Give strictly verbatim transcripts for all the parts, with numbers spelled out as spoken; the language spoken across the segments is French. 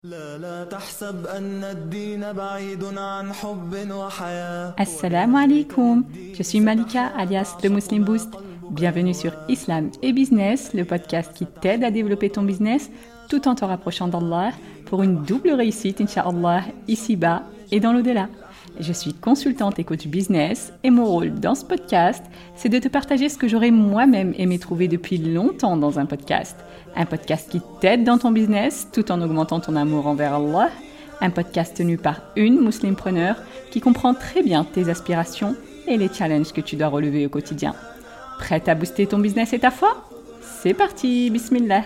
Assalamu alaikum, je suis Malika alias The Muslim Boost. Bienvenue sur Islam et Business, le podcast qui t'aide à développer ton business tout en te rapprochant d'Allah pour une double réussite, Inch'Allah, ici-bas et dans l'au-delà. Je suis consultante et coach business et mon rôle dans ce podcast, c'est de te partager ce que j'aurais moi-même aimé trouver depuis longtemps dans un podcast. Un podcast qui t'aide dans ton business tout en augmentant ton amour envers Allah. Un podcast tenu par une muslimpreneur qui comprend très bien tes aspirations et les challenges que tu dois relever au quotidien. Prête à booster ton business et ta foi ? C'est parti, bismillah.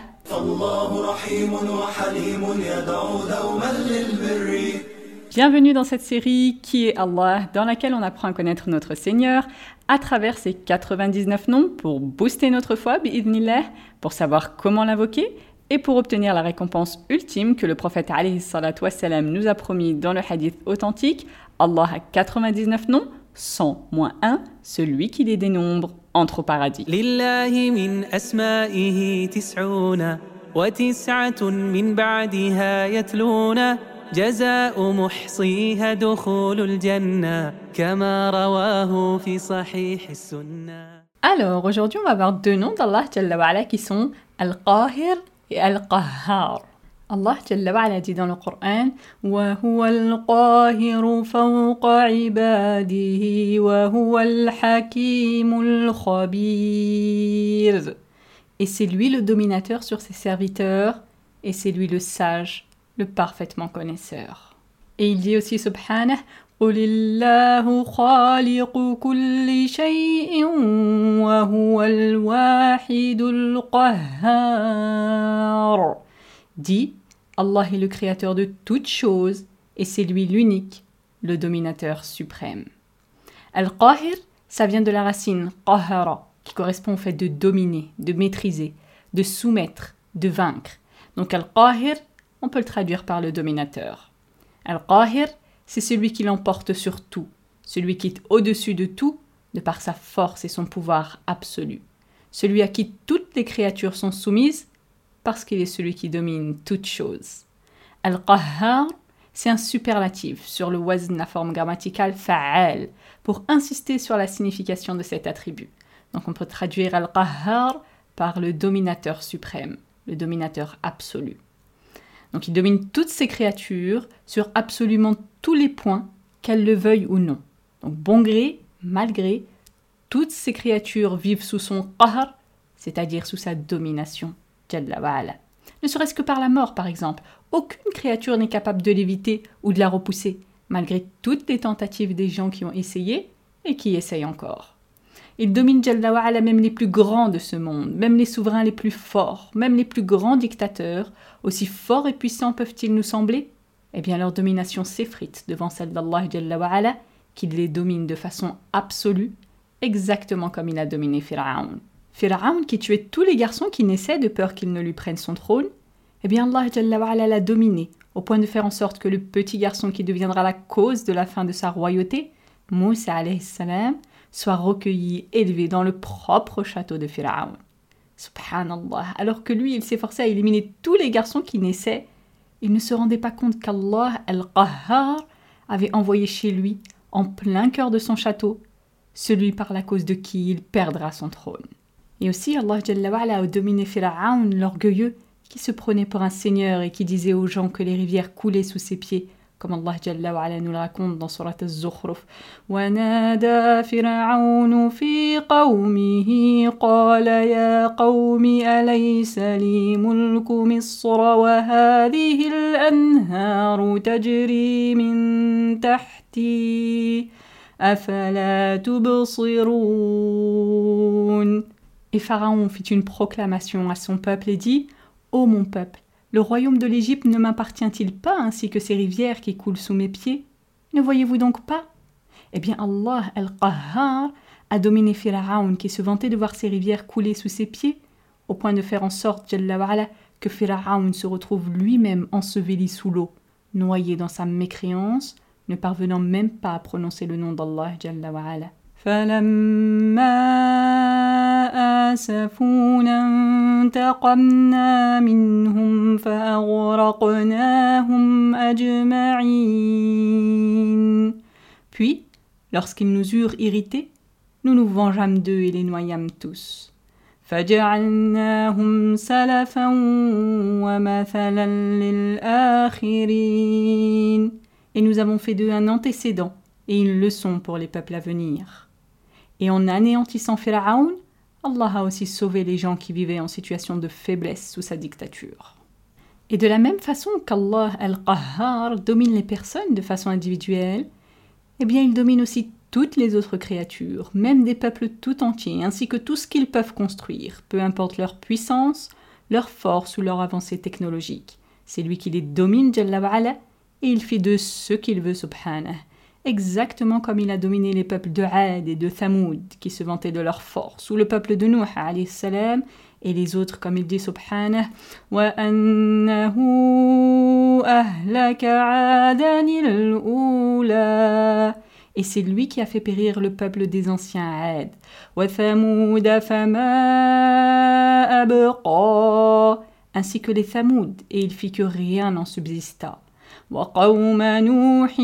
Bienvenue dans cette série Qui est Allah, dans laquelle on apprend à connaître notre Seigneur à travers ses quatre-vingt-dix-neuf noms pour booster notre foi, bi'idhnillah, pour savoir comment l'invoquer et pour obtenir la récompense ultime que le prophète alayhi salatu wassalam nous a promis dans le hadith authentique. Allah a quatre-vingt-dix-neuf noms, cent moins un, celui qui les dénombre entre au paradis. Lillahi min asma'ihi tis'una wa tis'atun min ba'diha yatluna جزاء محصيها دخول الجنة كما رواه في صحيح السنة. Alors, aujourd'hui, on va voir deux noms d'Allah Jalla wa Ala qui sont Al-Qahir et Al-Qahhar. Allah Jalla wa Ala dit dans le Coran وَهُوَ الْقَاهِرُ فَوْقَ عِبَادِهِ وَهُوَ الْحَكِيمُ الْخَبِيرُ. Et c'est lui le dominateur sur ses serviteurs et c'est lui le sage, le parfaitement connaisseur. Et il dit aussi subhanah قُلِ اللَّهُ خَالِقُ كُلِّ شَيْءٍ وَهُوَ الْوَاحِدُ الْقَهَّارُ. Dit, Allah est le créateur de toutes choses et c'est lui l'unique, le dominateur suprême. Al-Qahir, ça vient de la racine qahara, qui correspond au fait de dominer, de maîtriser, de soumettre, de vaincre. Donc Al-Qahir, on peut le traduire par le dominateur. Al-Qahir, c'est celui qui l'emporte sur tout, celui qui est au-dessus de tout, de par sa force et son pouvoir absolu. Celui à qui toutes les créatures sont soumises, parce qu'il est celui qui domine toutes choses. Al-Qahhar, c'est un superlatif sur le wazn, la forme grammaticale fa'al, pour insister sur la signification de cet attribut. Donc on peut traduire Al-Qahhar par le dominateur suprême, le dominateur absolu. Donc il domine toutes ces créatures sur absolument tous les points, qu'elles le veuillent ou non. Donc bon gré, mal gré, toutes ces créatures vivent sous son qahr, c'est-à-dire sous sa domination, Jalla wa Ala. Ne serait-ce que par la mort par exemple, aucune créature n'est capable de l'éviter ou de la repousser, malgré toutes les tentatives des gens qui ont essayé et qui essayent encore. Il domine Jalla wa Ala même les plus grands de ce monde, même les souverains les plus forts, même les plus grands dictateurs, aussi forts et puissants peuvent-ils nous sembler ? Eh bien leur domination s'effrite devant celle d'Allah Jalla wa Ala, qui les domine de façon absolue, exactement comme il a dominé Pharaon. Pharaon qui tuait tous les garçons qui naissaient de peur qu'ils ne lui prennent son trône, eh bien Allah Jalla wa Ala l'a dominé, au point de faire en sorte que le petit garçon qui deviendra la cause de la fin de sa royauté, Moussa alayhi salam, soit recueilli, élevé dans le propre château de Pharaon. Subhanallah, alors que lui, il s'efforçait à éliminer tous les garçons qui naissaient, il ne se rendait pas compte qu'Allah Al-Qahhar avait envoyé chez lui, en plein cœur de son château, celui par la cause de qui il perdra son trône. Et aussi, Allah Jalla wa Ala a dominé Pharaon, l'orgueilleux, qui se prenait pour un seigneur et qui disait aux gens que les rivières coulaient sous ses pieds, comme Allah Jalla wa Ala nous le raconte dans Surat Az-Zukhruf. وَنَادَى فِرْعَوْنُ فِي قَوْمِهِ قَالَ يَا قَوْمِ أَلَيْسَ لِي مُلْكُ مِصْرَ وَهَذِهِ الْأَنْهَارُ تَجْرِي مِنْ تَحْتِي أَفَلَا تُبْصِرُونَ. Et Pharaon fit une proclamation à son peuple et dit « Ô mon peuple, le royaume de l'Égypte ne m'appartient-il pas ainsi que ces rivières qui coulent sous mes pieds ? Ne voyez-vous donc pas ? Eh bien Allah Al-Qahhar a dominé Pharaon qui se vantait de voir ces rivières couler sous ses pieds, au point de faire en sorte, Jalla wa Ala, que Pharaon se retrouve lui-même enseveli sous l'eau, noyé dans sa mécréance, ne parvenant même pas à prononcer le nom d'Allah Jalla wa Ala. فَلَمَّا آسفونا انتقمنا منهم فأغرقناهم أجمعين. Puis, lorsqu'ils nous eurent irrités, nous nous vengeâmes d'eux et les noyâmes tous. فجعلناهم سلفا ومثلا للآخرين. Et nous avons fait d'eux un antécédent et une leçon pour les peuples à venir. Et en anéantissant Pharaon, Allah a aussi sauvé les gens qui vivaient en situation de faiblesse sous sa dictature. Et de la même façon qu'Allah al-Qahhar domine les personnes de façon individuelle, eh bien il domine aussi toutes les autres créatures, même des peuples tout entiers, ainsi que tout ce qu'ils peuvent construire, peu importe leur puissance, leur force ou leur avancée technologique. C'est lui qui les domine, Jalla wa Ala, et il fait de ce qu'il veut, subhanah. Exactement comme il a dominé les peuples de Ad et de Thamoud, qui se vantaient de leur force, ou le peuple de Nuh, alayhi salam, et les autres, comme il dit, subhanah, وَأَنَّهُ أَهْلَكَ عَادًا الْأُولَى. Et c'est lui qui a fait périr le peuple des anciens Ad. وَثَمُودَ فَمَا أَبْقَى. Ainsi que les Thamoud, et il fit que rien n'en subsista. وَقَوْمَ نُوحٍ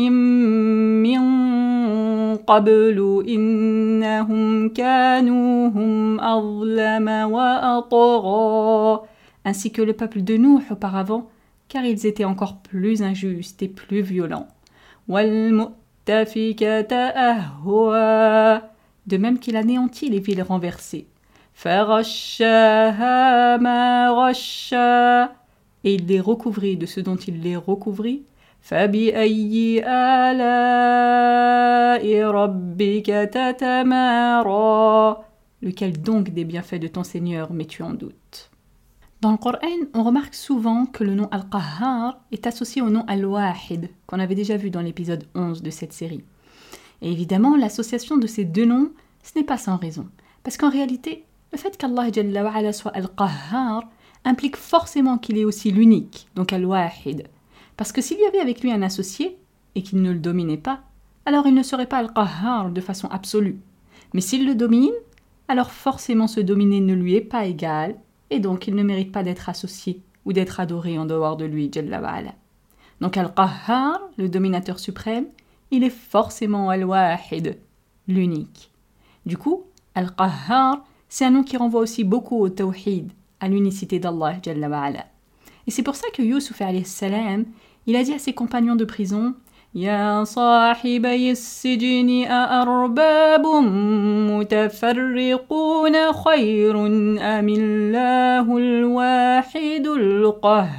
مِّن قَبْلُ إِنَّهُمْ كَانُوا هُمْ أَظْلَمَ وَأَطْغَى. Ainsi que le peuple de Nuh auparavant, car ils étaient encore plus injustes et plus violents. وَالْمُؤْتَفِكَةَ أَهْوَى. De même qu'il anéantit les villes renversées. فَغَشَّاهَا مَا غَشَّى. Et il les recouvrit de ce dont il les recouvrit. فَبِأَيِّ آلَاءِ رَبِّكَ تَتَمَارَى. Lequel donc des bienfaits de ton Seigneur mets-tu en doute? Dans le Coran, on remarque souvent que le nom Al-Qahhar est associé au nom Al-Wahid, qu'on avait déjà vu dans l'épisode onze de cette série. Et évidemment, l'association de ces deux noms, ce n'est pas sans raison. Parce qu'en réalité, le fait qu'Allah Jalla wa Ala soit Al-Qahhar implique forcément qu'il est aussi l'unique, donc Al-Wahid. Parce que s'il y avait avec lui un associé, et qu'il ne le dominait pas, alors il ne serait pas Al-Qahhar de façon absolue. Mais s'il le domine, alors forcément ce dominé ne lui est pas égal, et donc il ne mérite pas d'être associé ou d'être adoré en dehors de lui, Jalla wa Ala. Donc Al-Qahhar, le dominateur suprême, il est forcément Al-Wahid, l'unique. Du coup, Al-Qahhar, c'est un nom qui renvoie aussi beaucoup au tawhid, à l'unicité d'Allah Jalla wa Ala. Et c'est pour ça que Yusuf alayhi salam, il a dit à ses compagnons de prison: Ya sahibayi as-sijni a'arbabun mutafarriquna khayrun amillahu al-wahidul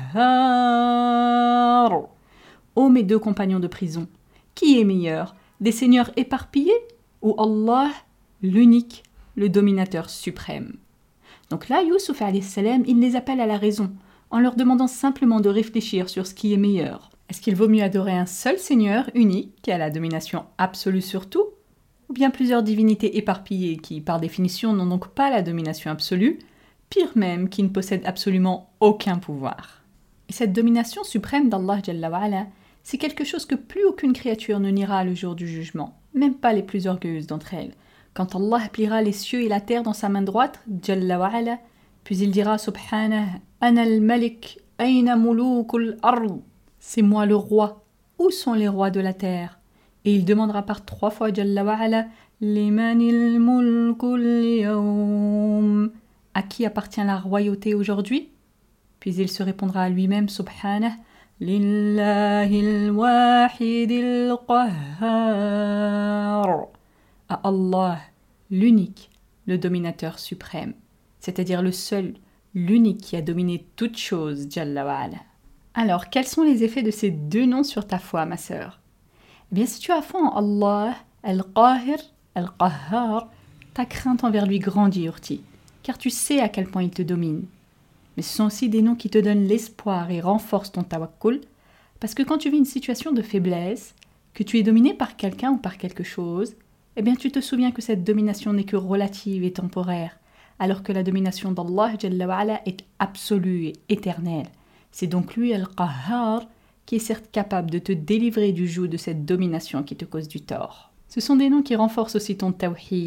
qahhar. Ô mes deux compagnons de prison, qui est meilleur, des seigneurs éparpillés ou Allah, l'unique, le dominateur suprême? Donc là, Yusuf alayhi salam, il les appelle à la raison, en leur demandant simplement de réfléchir sur ce qui est meilleur. Est-ce qu'il vaut mieux adorer un seul Seigneur unique, qui a la domination absolue sur tout, ou bien plusieurs divinités éparpillées qui, par définition, n'ont donc pas la domination absolue, pire même, qui ne possèdent absolument aucun pouvoir? Et cette domination suprême d'Allah Jalla wa Ala, c'est quelque chose que plus aucune créature ne niera le jour du jugement, même pas les plus orgueilleuses d'entre elles. Quand Allah pliera les cieux et la terre dans sa main droite, Jalla wa Ala, puis il dira Subhanah, Ana al-Malik, Aina mulukul ard. C'est moi le roi. Où sont les rois de la terre? Et il demandera par trois fois Jalla wa Ala, Limanil mulkul yawm. À qui appartient la royauté aujourd'hui? Puis il se répondra à lui-même Subhanah, Lillahil wahidil qahhar. À Allah, l'unique, le dominateur suprême, c'est-à-dire le seul, l'unique qui a dominé toute chose, Jalla wa Ala. Alors, quels sont les effets de ces deux noms sur ta foi, ma sœur? Eh bien, si tu as foi en Allah, Al-Qahir, Al-Qahhar, ta crainte envers lui grandit, Urti, car tu sais à quel point il te domine. Mais ce sont aussi des noms qui te donnent l'espoir et renforcent ton tawakkul, parce que quand tu vis une situation de faiblesse, que tu es dominé par quelqu'un ou par quelque chose, eh bien tu te souviens que cette domination n'est que relative et temporaire, alors que la domination d'Allah Jalla wa Ala est absolue et éternelle. C'est donc lui, Al-Qahhar, qui est certes capable de te délivrer du joug de cette domination qui te cause du tort. Ce sont des noms qui renforcent aussi ton tawhid,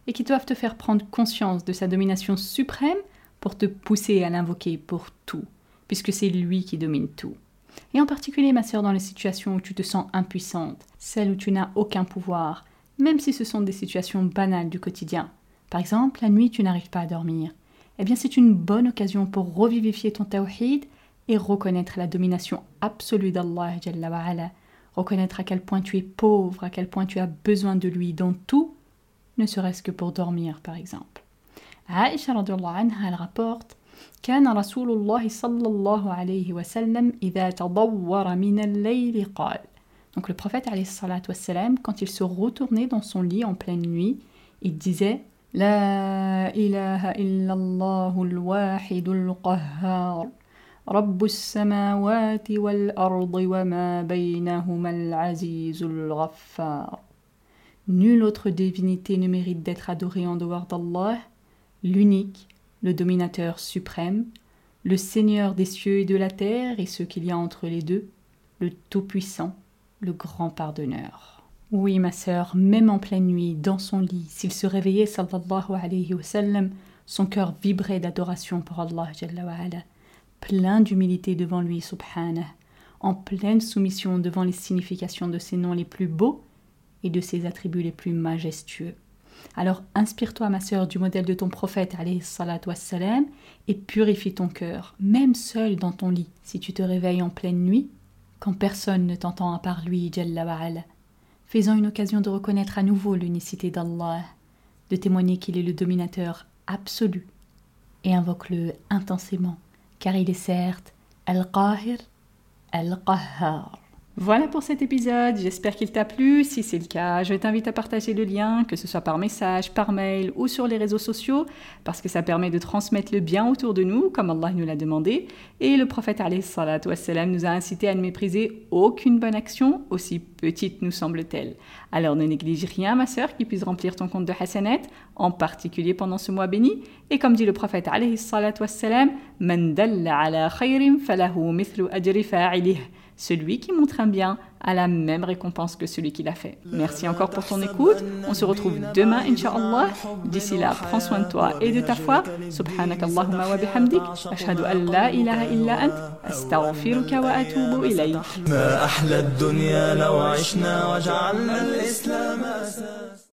et qui doivent te faire prendre conscience de sa domination suprême pour te pousser à l'invoquer pour tout, puisque c'est lui qui domine tout. Et en particulier, ma sœur, dans les situations où tu te sens impuissante, celles où tu n'as aucun pouvoir, même si ce sont des situations banales du quotidien. Par exemple, la nuit, tu n'arrives pas à dormir. Eh bien, c'est une bonne occasion pour revivifier ton tawhid et reconnaître la domination absolue d'Allah Jalla wa Ala. Reconnaître à quel point tu es pauvre, à quel point tu as besoin de lui dans tout, ne serait-ce que pour dormir, par exemple. Aïcha radhiyallahu anha, elle rapporte كان رسول الله صلى الله عليه وسلم إذا تضور من الليل قال. Donc le prophète alayhi salatu wassalam, quand il se retournait dans son lit en pleine nuit, il disait لا إله إلا الله الواحد القهار رب السماوات والأرض وما بينهما العزيز الغفار. Nulle autre divinité ne mérite d'être adorée en dehors d'Allah, l'unique, le dominateur suprême, le Seigneur des cieux et de la terre et ce qu'il y a entre les deux, le Tout-Puissant, le grand pardonneur. Oui, ma sœur, même en pleine nuit, dans son lit, s'il se réveillait, sallallahu alayhi wa sallam, son cœur vibrait d'adoration pour Allah, jalla wa ala, plein d'humilité devant lui, subhanah, en pleine soumission devant les significations de ses noms les plus beaux et de ses attributs les plus majestueux. Alors inspire-toi, ma sœur, du modèle de ton prophète, alayhi salatu wassalam, et purifie ton cœur, même seul dans ton lit, si tu te réveilles en pleine nuit, quand personne ne t'entend à part lui, jalla wa ala. Fais-en une occasion de reconnaître à nouveau l'unicité d'Allah, de témoigner qu'il est le dominateur absolu, et invoque-le intensément, car il est certes Al-Qahir, Al-Qahhar. Voilà pour cet épisode, j'espère qu'il t'a plu. Si c'est le cas, je t'invite à partager le lien, que ce soit par message, par mail ou sur les réseaux sociaux, parce que ça permet de transmettre le bien autour de nous, comme Allah nous l'a demandé. Et le prophète alayhi salatu wassalam nous a incité à ne mépriser aucune bonne action, aussi petite nous semble-t-elle. Alors ne néglige rien, ma sœur, qui puisse remplir ton compte de hasanat, en particulier pendant ce mois béni. Et comme dit le prophète alayhi salatu wassalam, Man dalla ala khayrin falahu mithlu ajri fa'ilih. Celui qui montre un bien a la même récompense que celui qui l'a fait. Merci encore pour ton écoute. On se retrouve demain, Inch'Allah. D'ici là, prends soin de toi et de ta foi. Subhanak Allahumma wa bihamdik. Ashhadu an la ilaha illa ant. Astaghfiruka wa atubu ilayk. ما أحلى الدنيا لو عشنا وجعلنا الإسلام أساس